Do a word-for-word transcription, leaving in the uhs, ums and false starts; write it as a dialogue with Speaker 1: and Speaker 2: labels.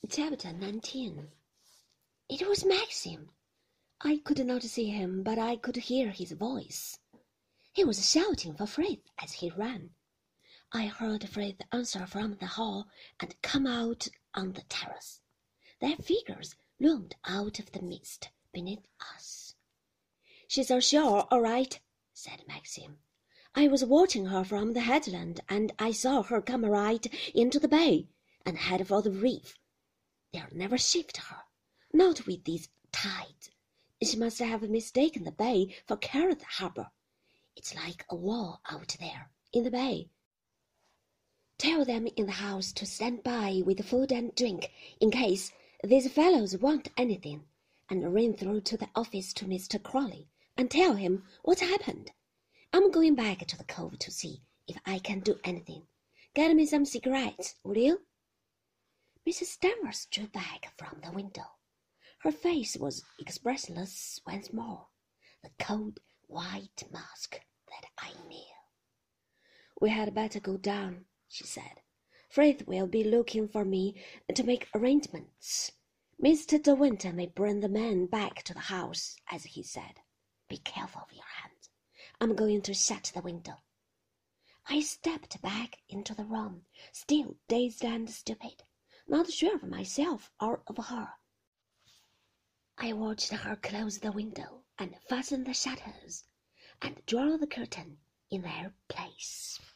Speaker 1: Chapter nineteen. It was Maxim. I could not see him, but I could hear his voice. He was shouting for Frith as he ran. I heard Frith answer from the hall and come out on the terrace. Their figures loomed out of the mist beneath us. "She's ashore, all right," said Maxim. "I was watching her from the headland, and I saw her come right into the bay and head for the reef. They'll never shift her, not with these tides. She must have mistaken the bay for Carrot Harbour. It's like a wall out there in the bay. Tell them in the house to stand by with food and drink in case these fellows want anything, and ring through to the office to Mister Crawley and tell him what happened. I'm going back to the cove to see if I can do anything. Get me some cigarettes, will you?" Missus Danvers drew back from the window. Her face was expressionless once more, the cold white mask that I knew. "We had better go down," she said. "Frith will be looking for me to make arrangements. Mister De Winter may bring the men back to the house, as he said. Be careful of your hands. I'm going to shut the window." I stepped back into the room, still dazed and stupid, not sure of myself or of her. I watched her close the window and fasten the shutters and draw the curtain in their place.